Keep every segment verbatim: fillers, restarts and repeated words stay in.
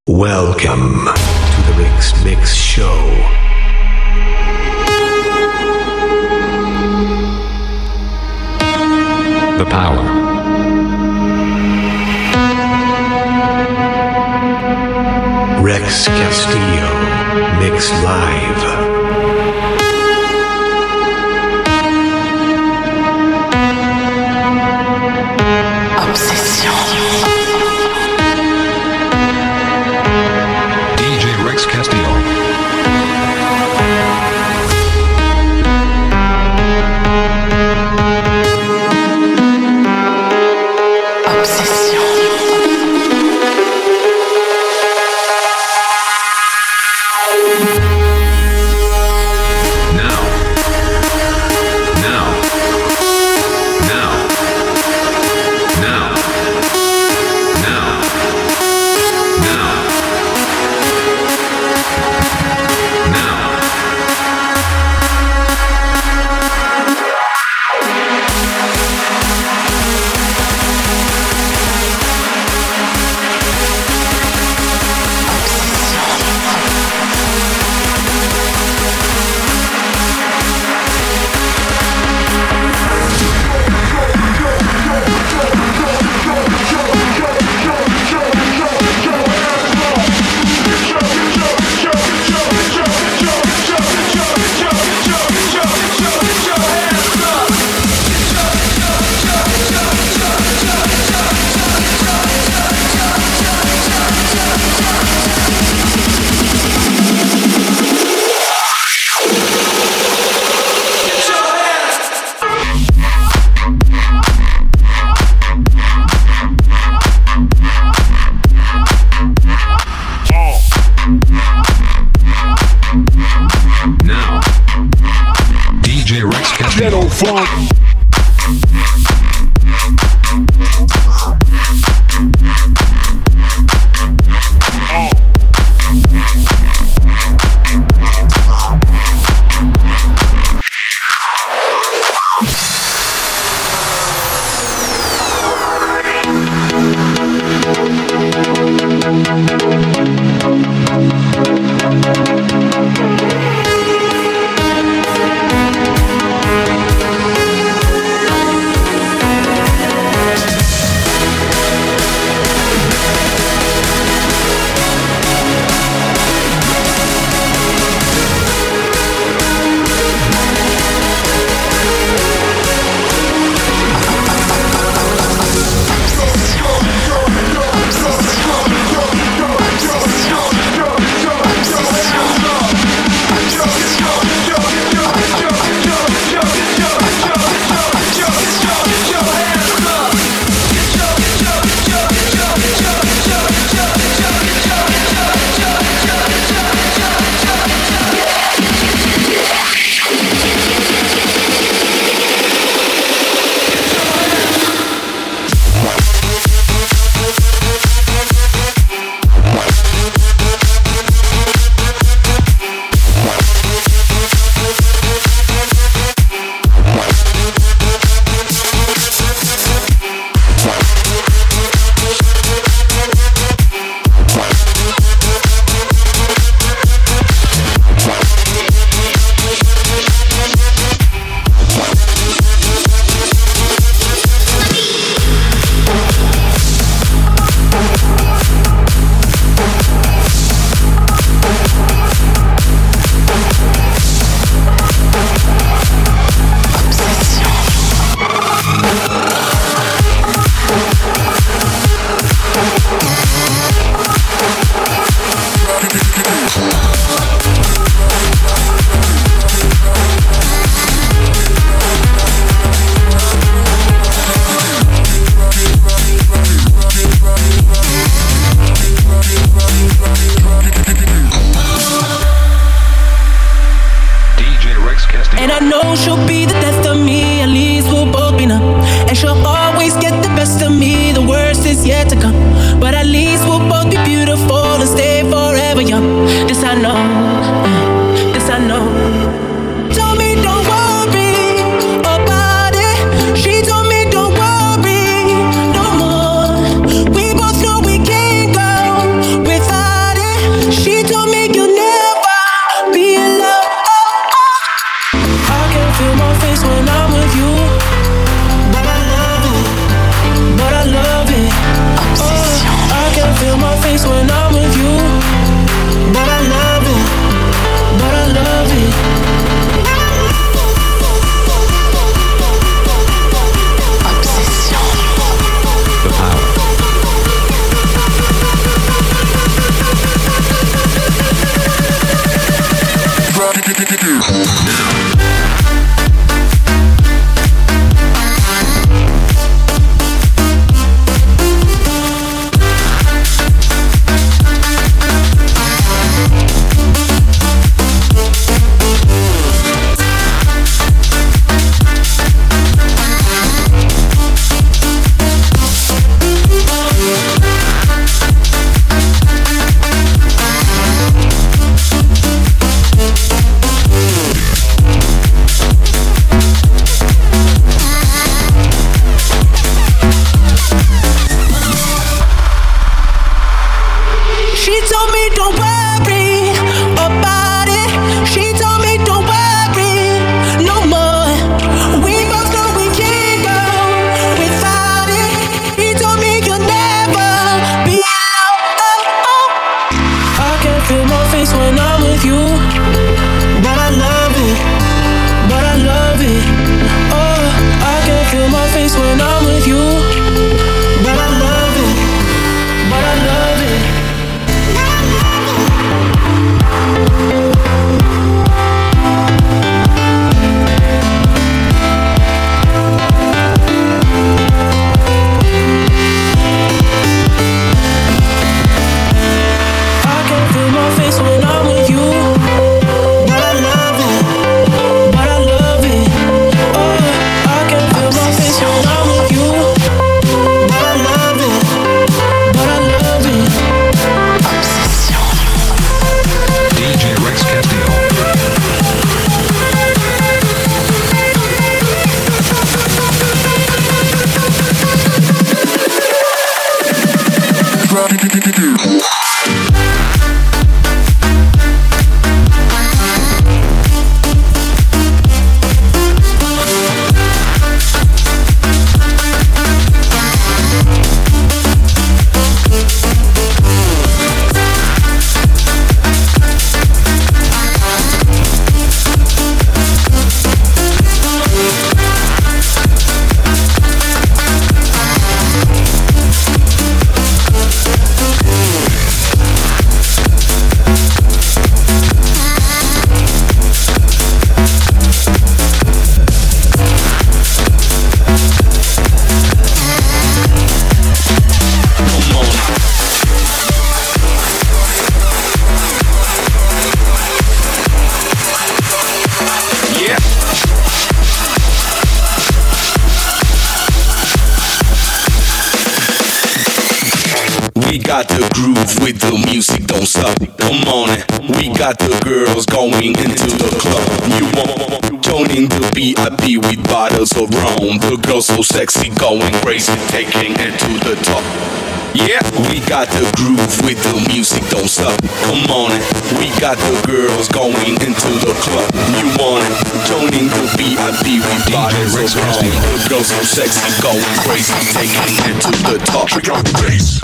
Welcome to the Rick's Mix Show. The power. Rex Castillo, Mix Live. Without face when I'm with you. But I love it, but I love it. Obsession. The power. got the groove with the music, don't stop. Come on, we got the girls going into the club. You want joining the V I P with bottles of rum. The girls so sexy, going crazy, taking it to the top. Yeah, we got the groove with the music, don't stop. Come on, we got the girls going into the club. You want it? Joining the V I P with bottles of rum. The girls so sexy, going crazy, taking it to the top. Check out the bass.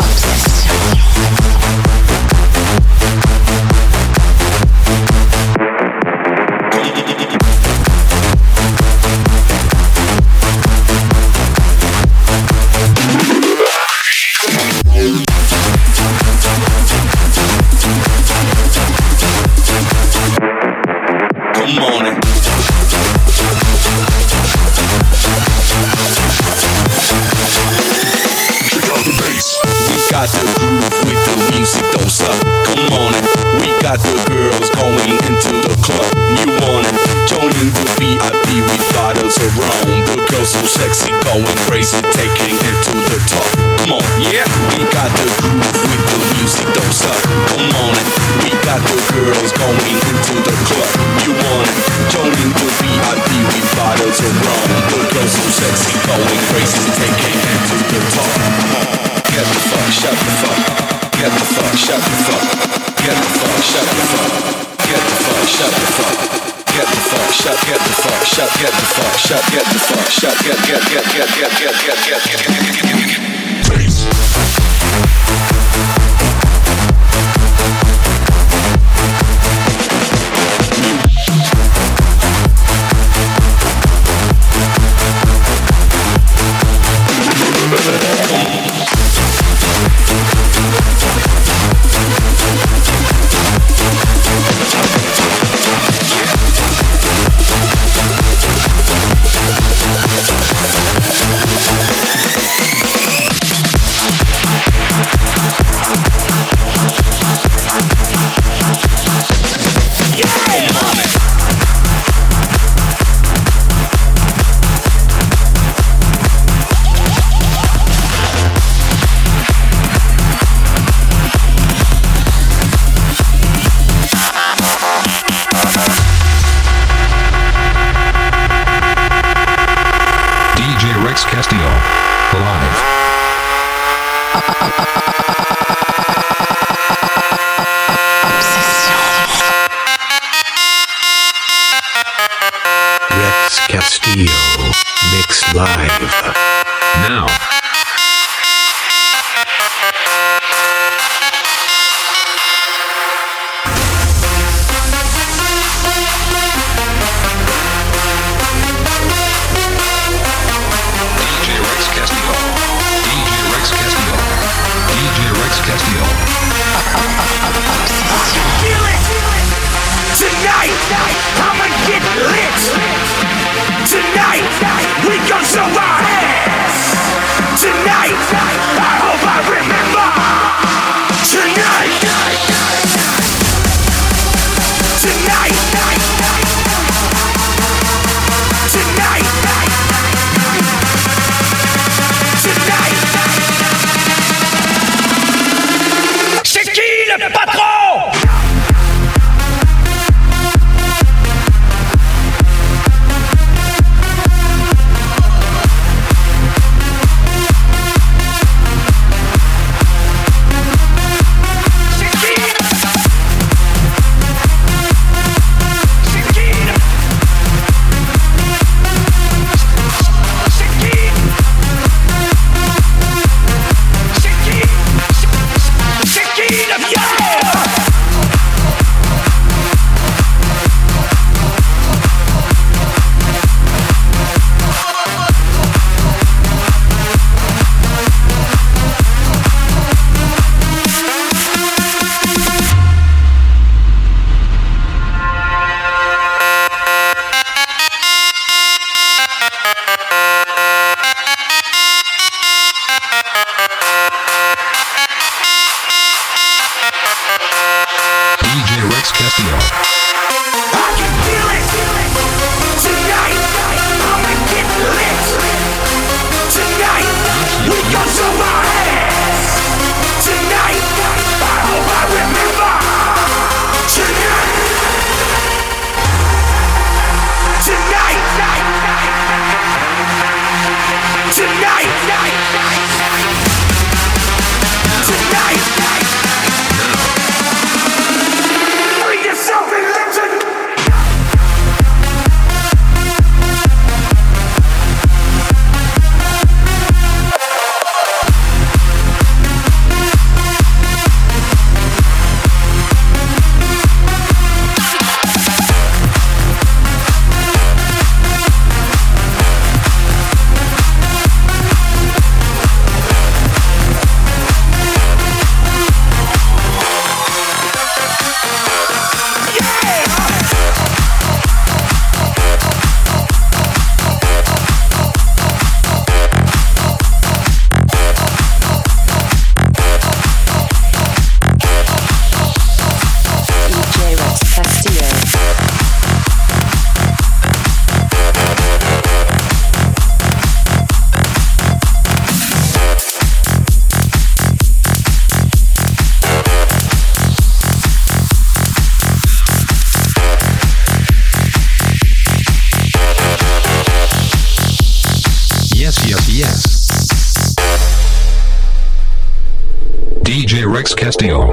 Come on in. Check out the bass. We got the groove with the music, don't stop. Come on in. We got the girls going into the club. You want it? Joining the V I P with bottles of rum. The girls so sexy, going crazy, taking it to the top. Come on, yeah. We got the groove with the music, don't stop. Come on in. We got the girls going into the club. You want it? Joining the V I P with bottles of rum. The girls so sexy, going crazy, taking it to the top. Get the fuck, shut the fuck. Get the fuck, shut the fuck. Get the fuck, shut the fuck. Get the fuck, shut the fuck. Get the fuck, shut, get the fuck, shut, get the fuck, shut, get the fuck, shut, get, get, get, get, get, get, get, get, get, get, get, get, get, get, get. live. Now. Tonight, I'ma get lit. Tonight, we gon' show our ass. Tonight, I hope I remember. Tonight, tonight, tonight, tonight. C'est qui le patron? D J Rex Castillo.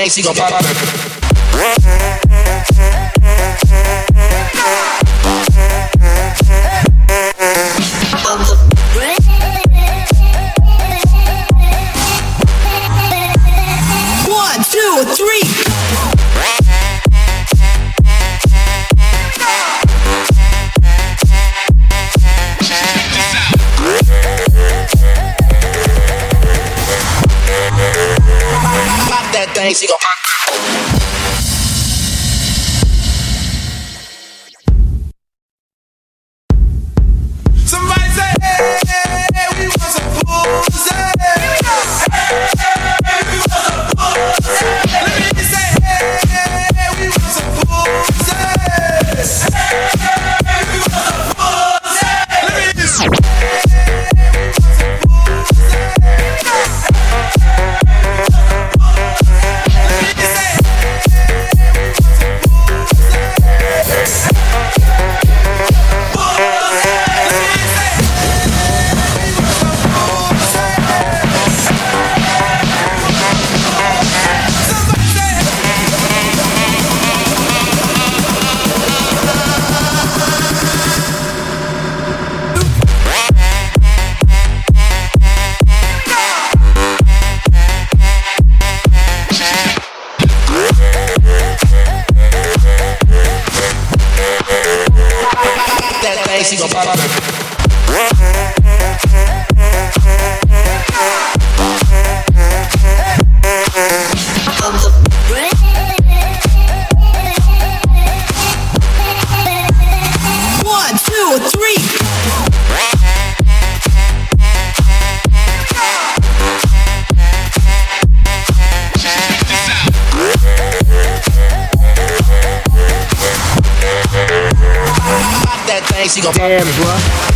thing, she gon' pop out. One, two, three. Pop that thing, she gon' pop. Somebody say, hey, we want some pussy. Hey, we want some pussy. Let me say, hey, we want some pussy. Hey, we want some pussy. Let me say, hey, we want some pussy. She gon' pop out. One, two, three. Pop that thing, she gon' pop. Damn, bruh.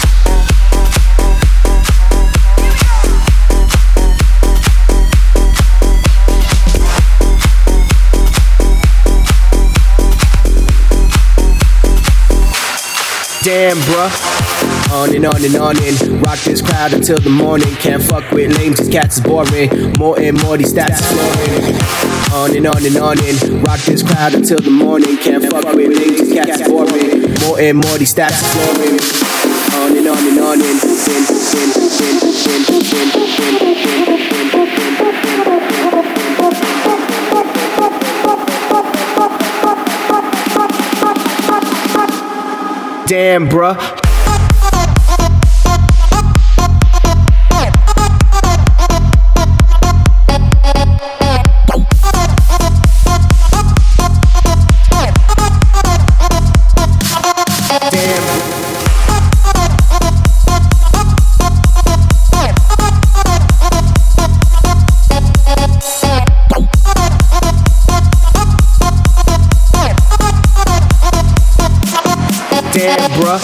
Damn, bruh. On and on and on and rock this crowd until the morning. Can't fuck with lames, these cats is boring. More and more, these stats is flooring. On and on and on and rock this crowd until the morning. Can't fuck with lames, these cats is boring. More and more, these stats is flooring. On and on and on and win, win, win, win, win, win, win, win. Damn, bruh. Damn, bruh.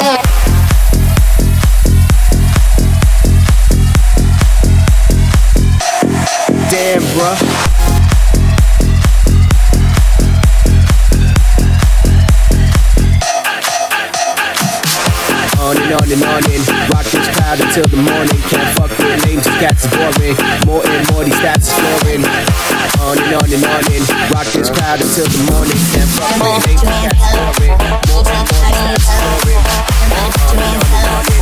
Damn, bruh. On and on and on and rock this crowd until the morning. Can't fuck with lames, these cats is boring. More and more, these stats is flooring. On and on and on and rock this crowd until the morning. Can't fuck with lames, these cats is boring. More and more, these stats is flooring. On and on and on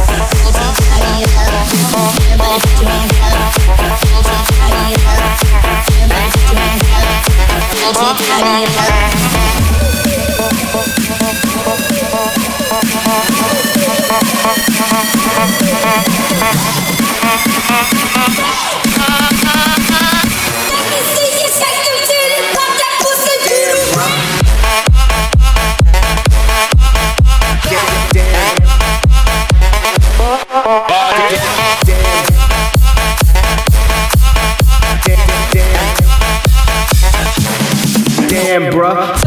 Damn, bruh.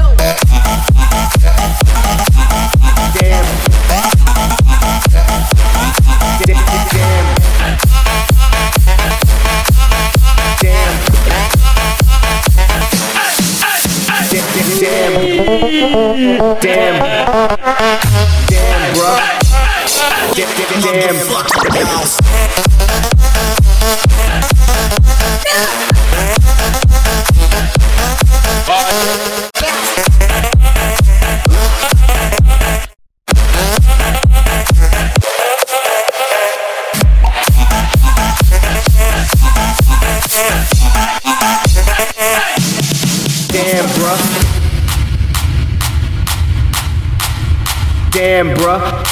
Damn. Damn. Damn. Damn, bruh. Damn. Damn, bruh. Damn, bruh.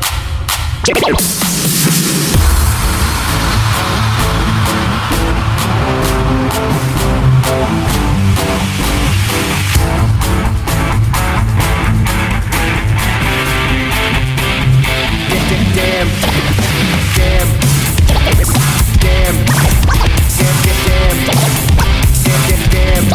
Damn, damn, damn, damn,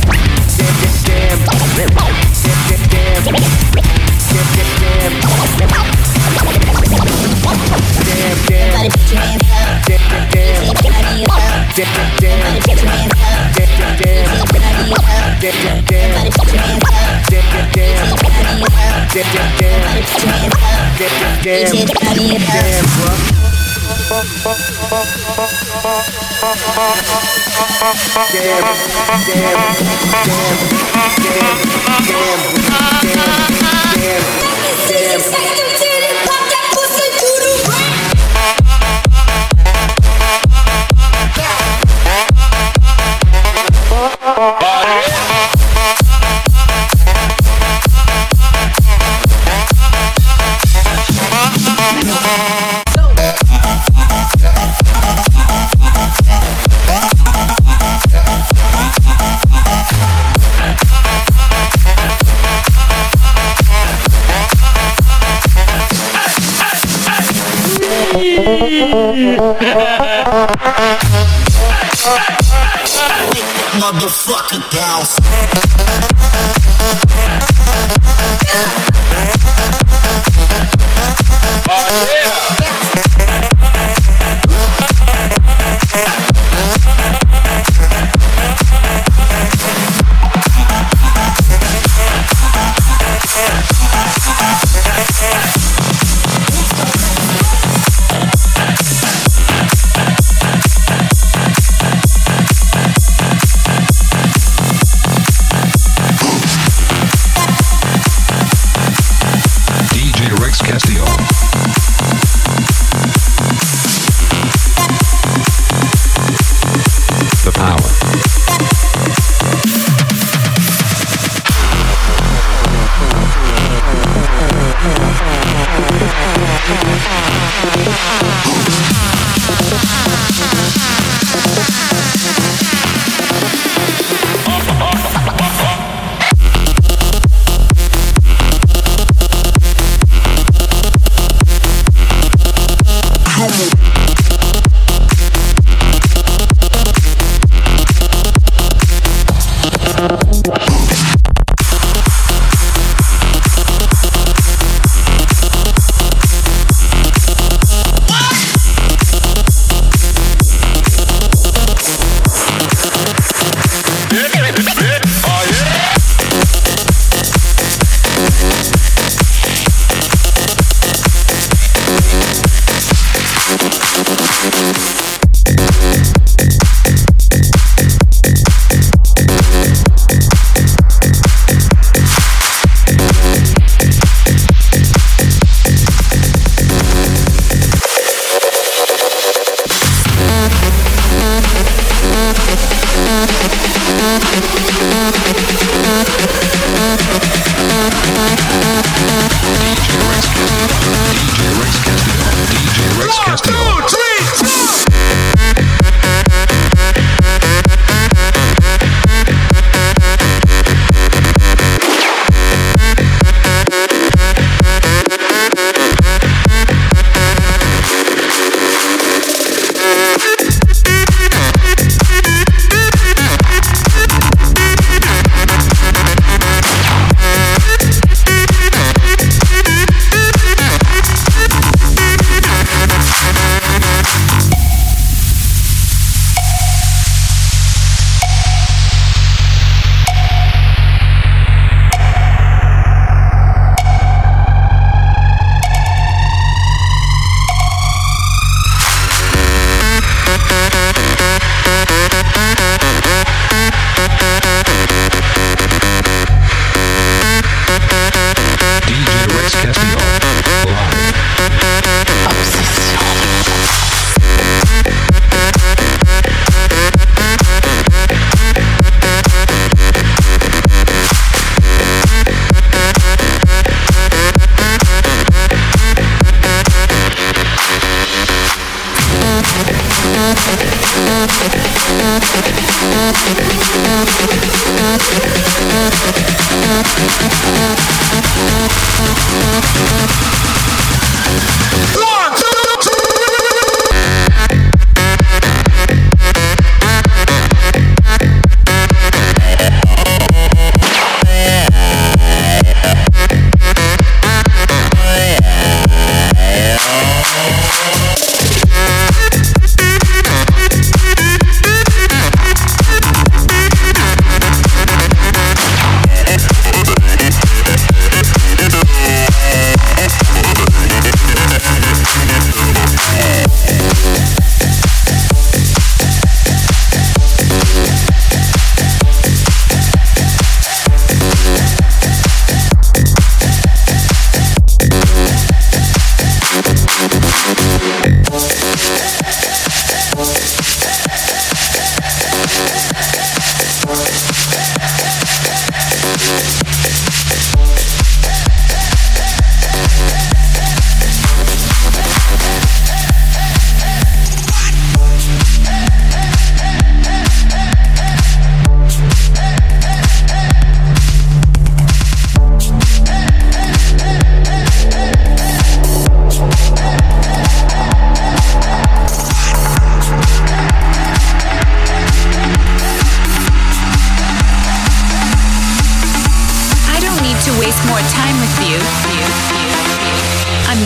Motherfucker bounce. Oh yeah.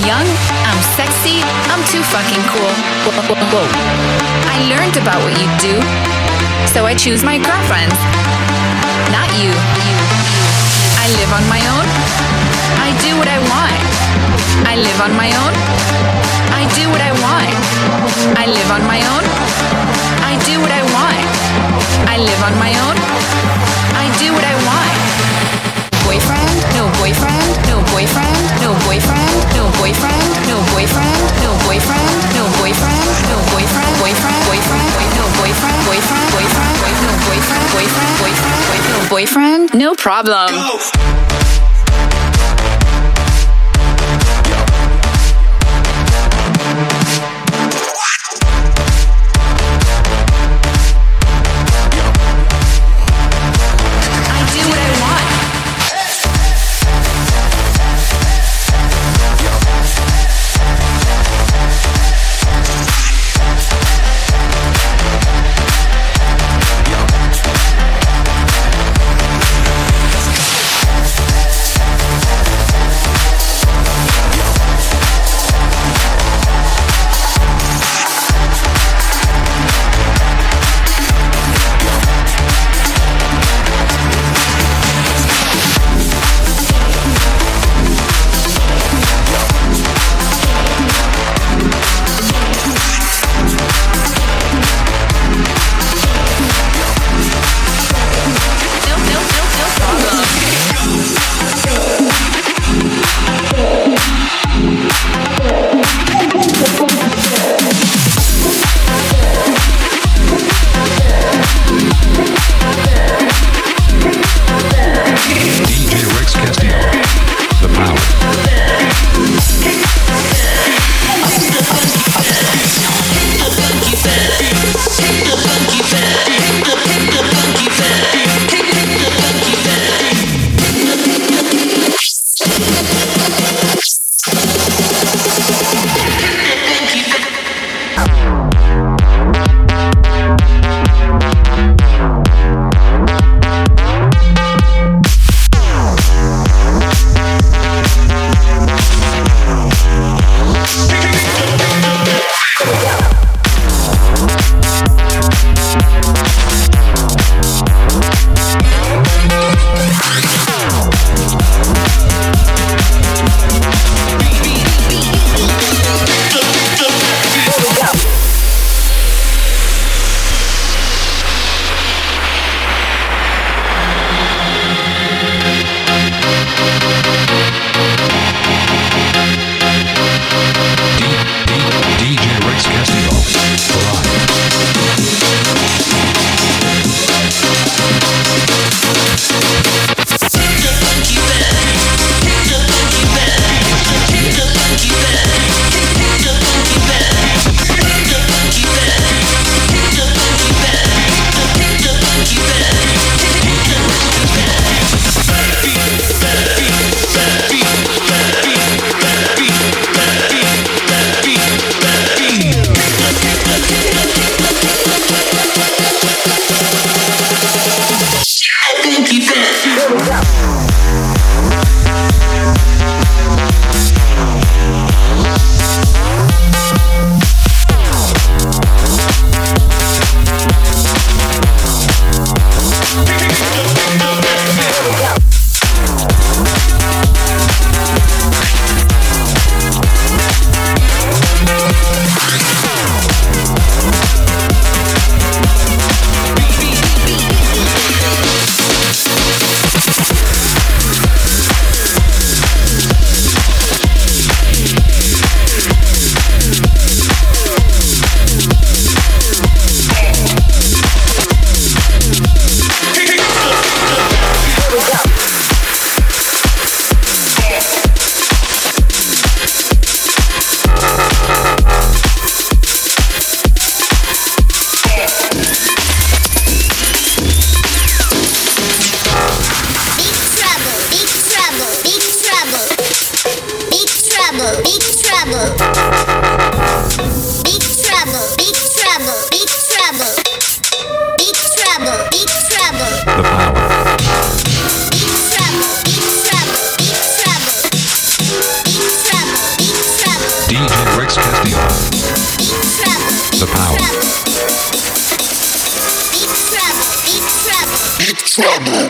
young, I'm sexy, I'm too fucking cool. Whoa. I learned about what you do, so I choose my girlfriends, not you. I live on my own, I do what I want. I live on my own, I do what I want. I live on my own, I do what I want. I live on my own, I do what I want. Boyfriend, no boyfriend, no boyfriend, no boyfriend, no boyfriend, no boyfriend, no boyfriend, no boyfriend, no boyfriend, boyfriend, boyfriend, no boyfriend, boyfriend, boyfriend, no boyfriend, boyfriend, boyfriend, no boyfriend, no problem. The power. Big trouble.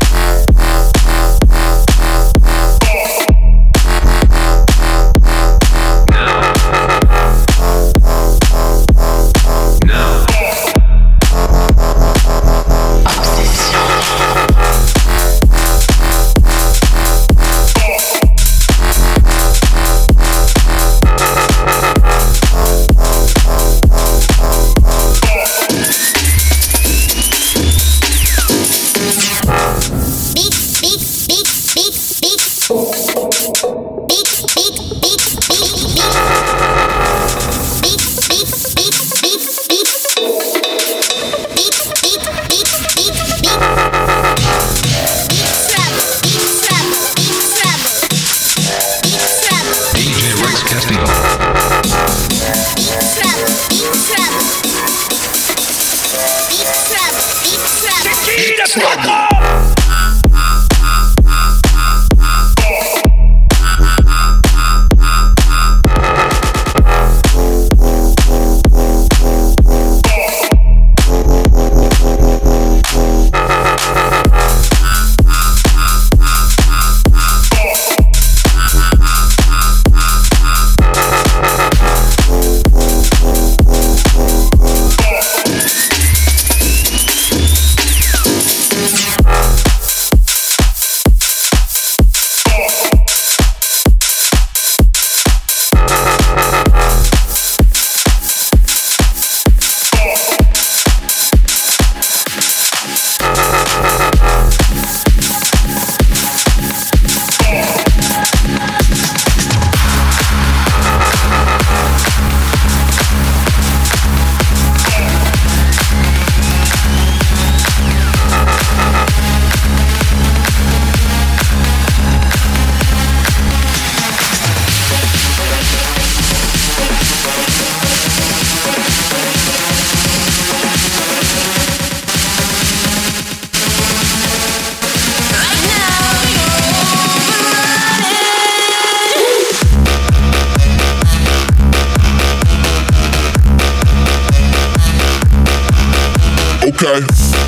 Okay.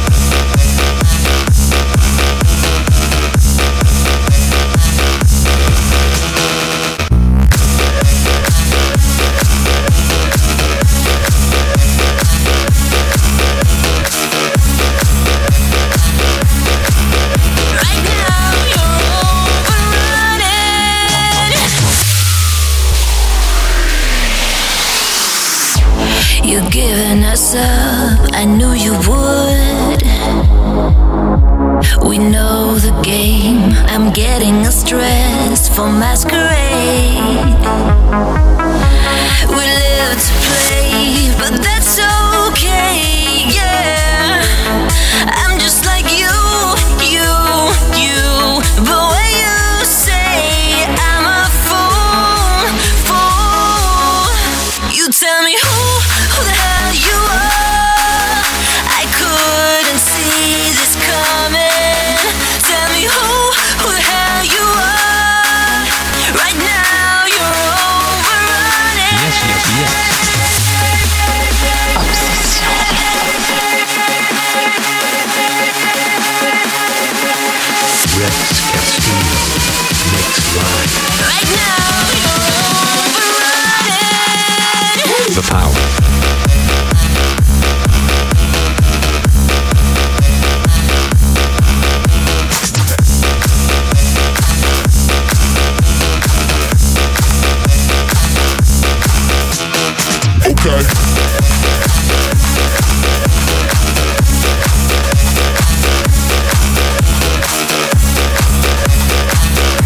You're giving us up, I knew you would. We know the game, I'm getting a stress for masquerade. We live to play, but that's okay, yeah. I'm just like you, you, you. But when you say I'm a fool, fool, you tell me who Who the hell you are? I couldn't see this coming. Tell me who, who the hell you are? Right now you're overrunning. Yes, yes, yes. Obsession. Rex Castillo, next line. Right now you're overrunning. The power. Okay.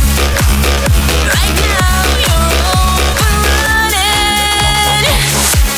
Right now you're overrunning.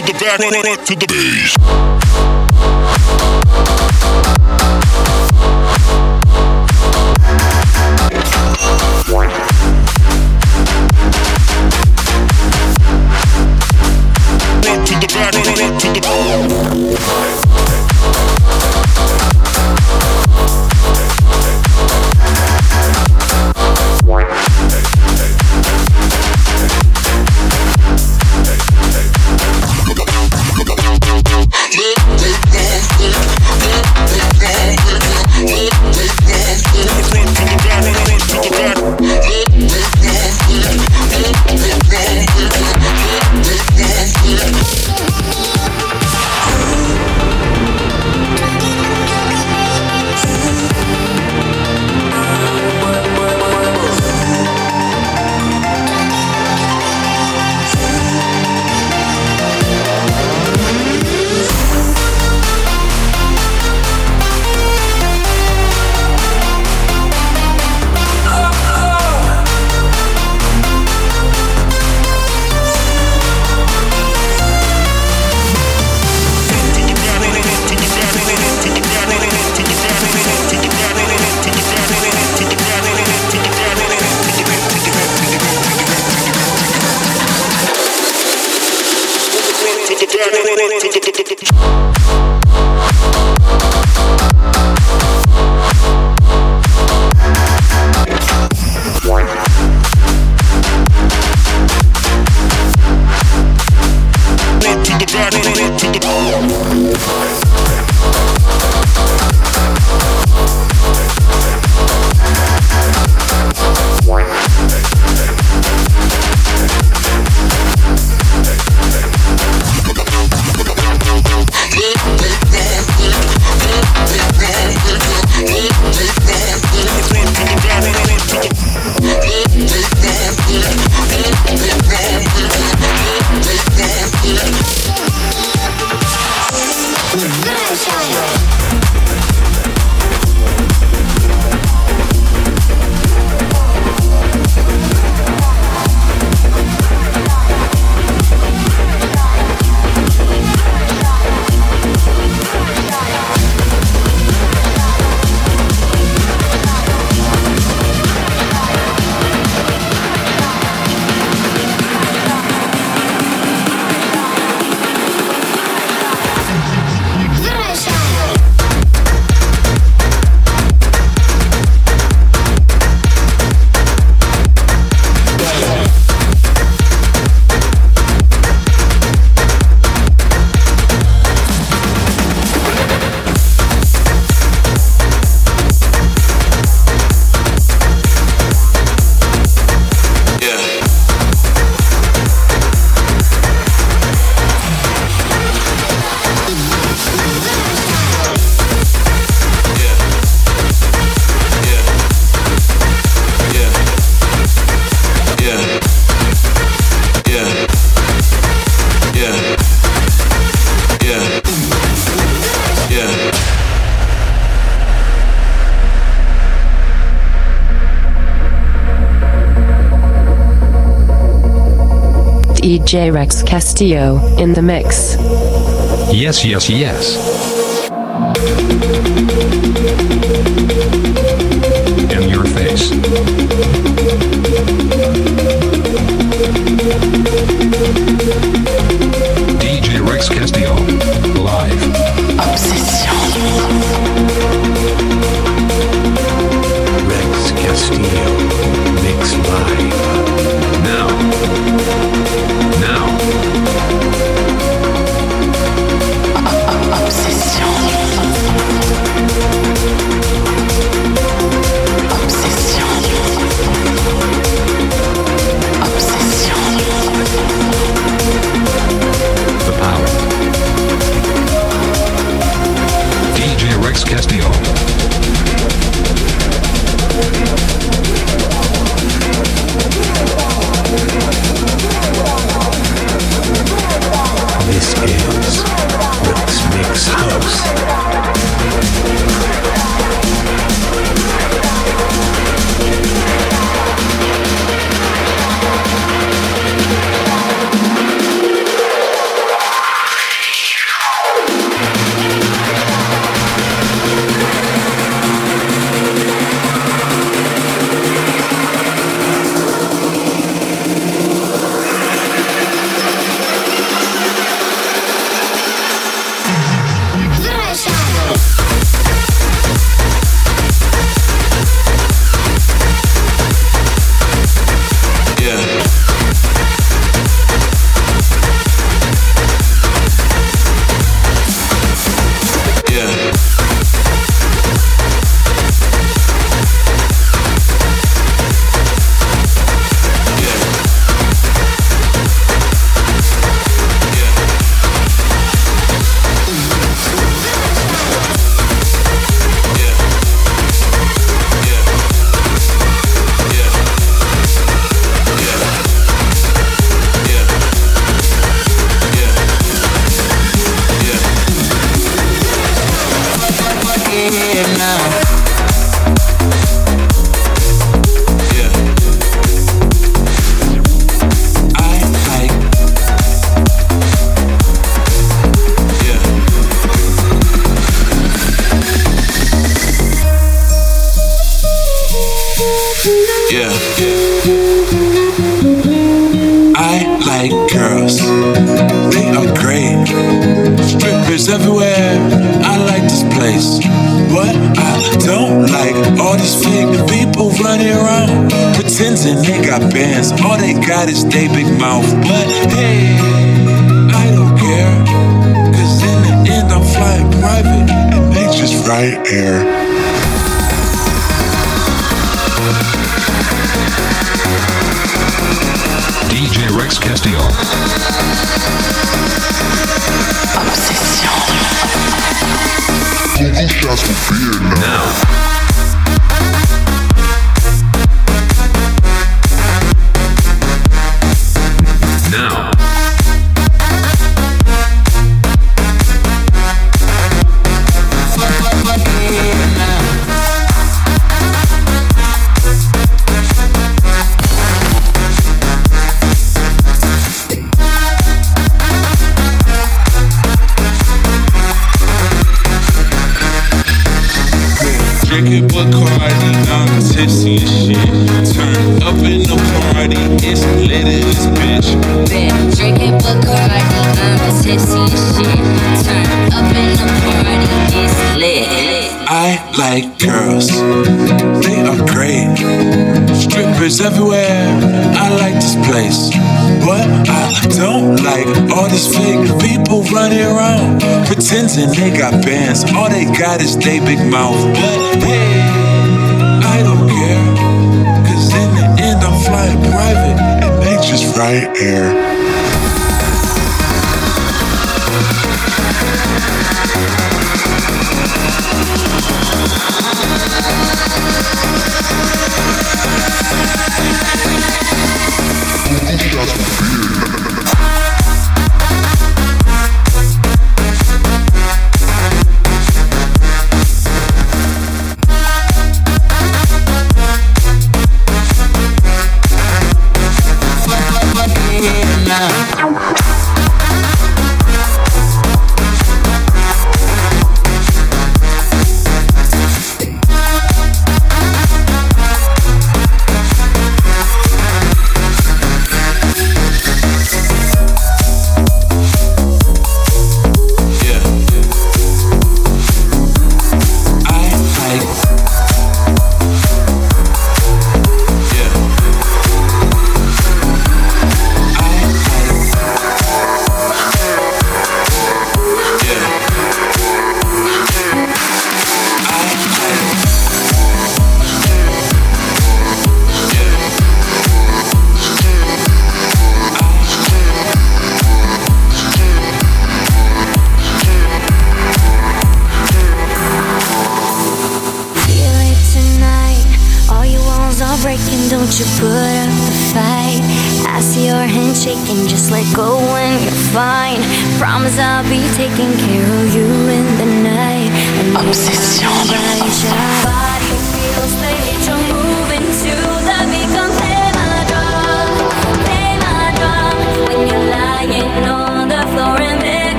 to the back, front, front to the bass. Front to the back, front, front to the D J Rex Castillo in the mix. Yes, yes, yes. In your face. D J Rex Castillo, live. Obsession. Rex Castillo, mix live. Now. Now. Obsession. Obsession. Yeah. I like girls. They are great. Strippers everywhere. I like this place. But I don't like all these fake people running around pretending they got bands. All they got is they big mouth. But hey, I don't care. Cause in the end I'm flying private and they just ride air. D J Rex Castillo. Now. Now. Drinking Bacardi, I'm tipsy and shit. Turn up in the party, it's lit in this bitch. Been drinking Bacardi, I'm tipsy and shit. Turn up in the party, it's lit. I like girls, they are great. Strippers everywhere, I like this place. But I don't like all these fake people running around pretending they got bands. All they got is they big mouth. But hey, I don't care. Cause in the end I'm flying private and they just ride air.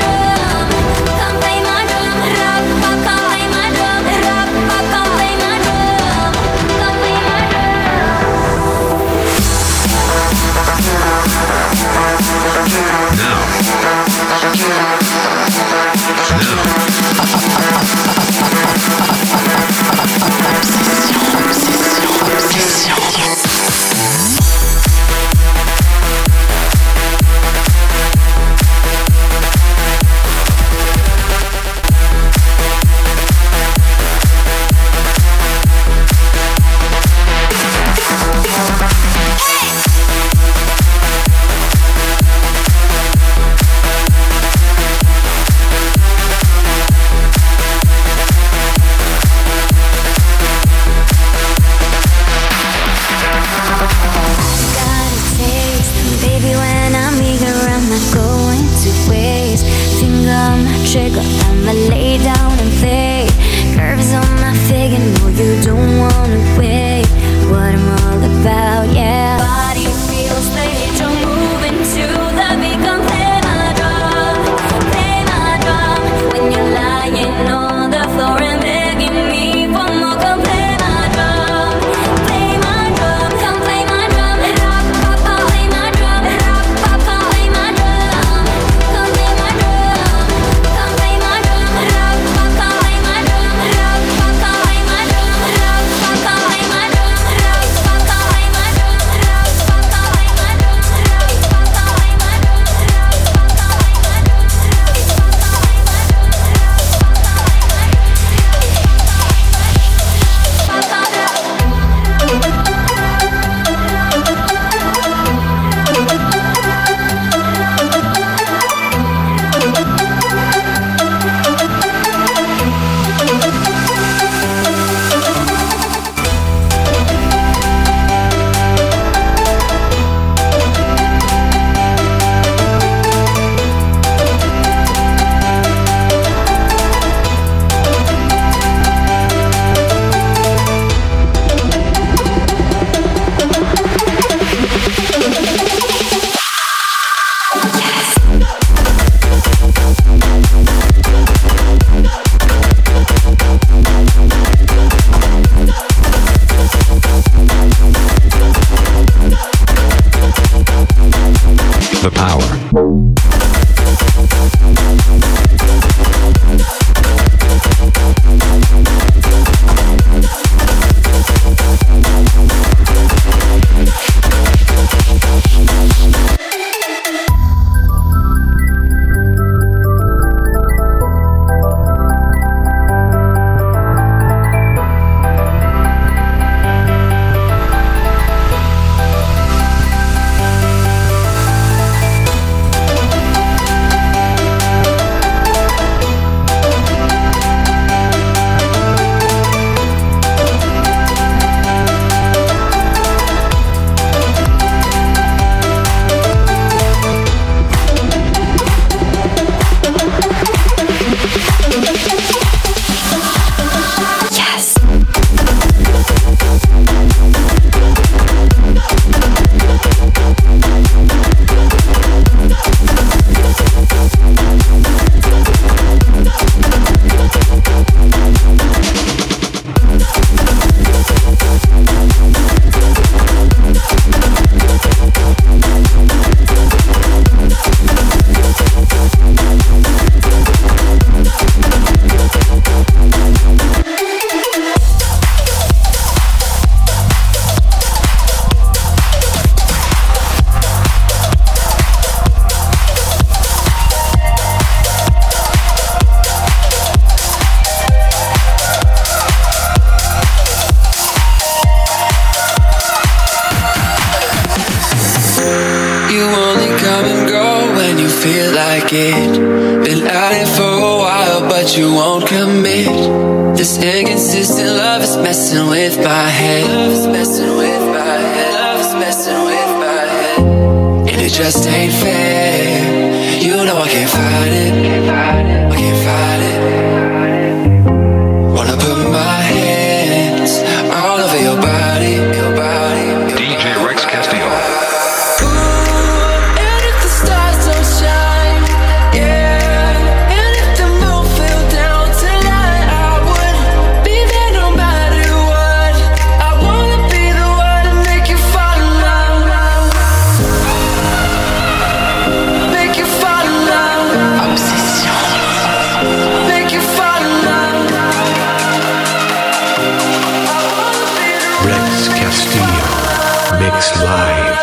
Play my drum. The Power. Been at it for a while, but you won't commit. This inconsistent love is messing with my head. Love is messing with my head. Love is messing with my head. And it just ain't fair. You know I can't fight it. I can't fight it. Wanna put my hands all over your body, your body. D J Rex Castillo. Mix Live.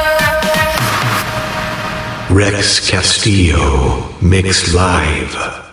Rex Castillo, Mix Live.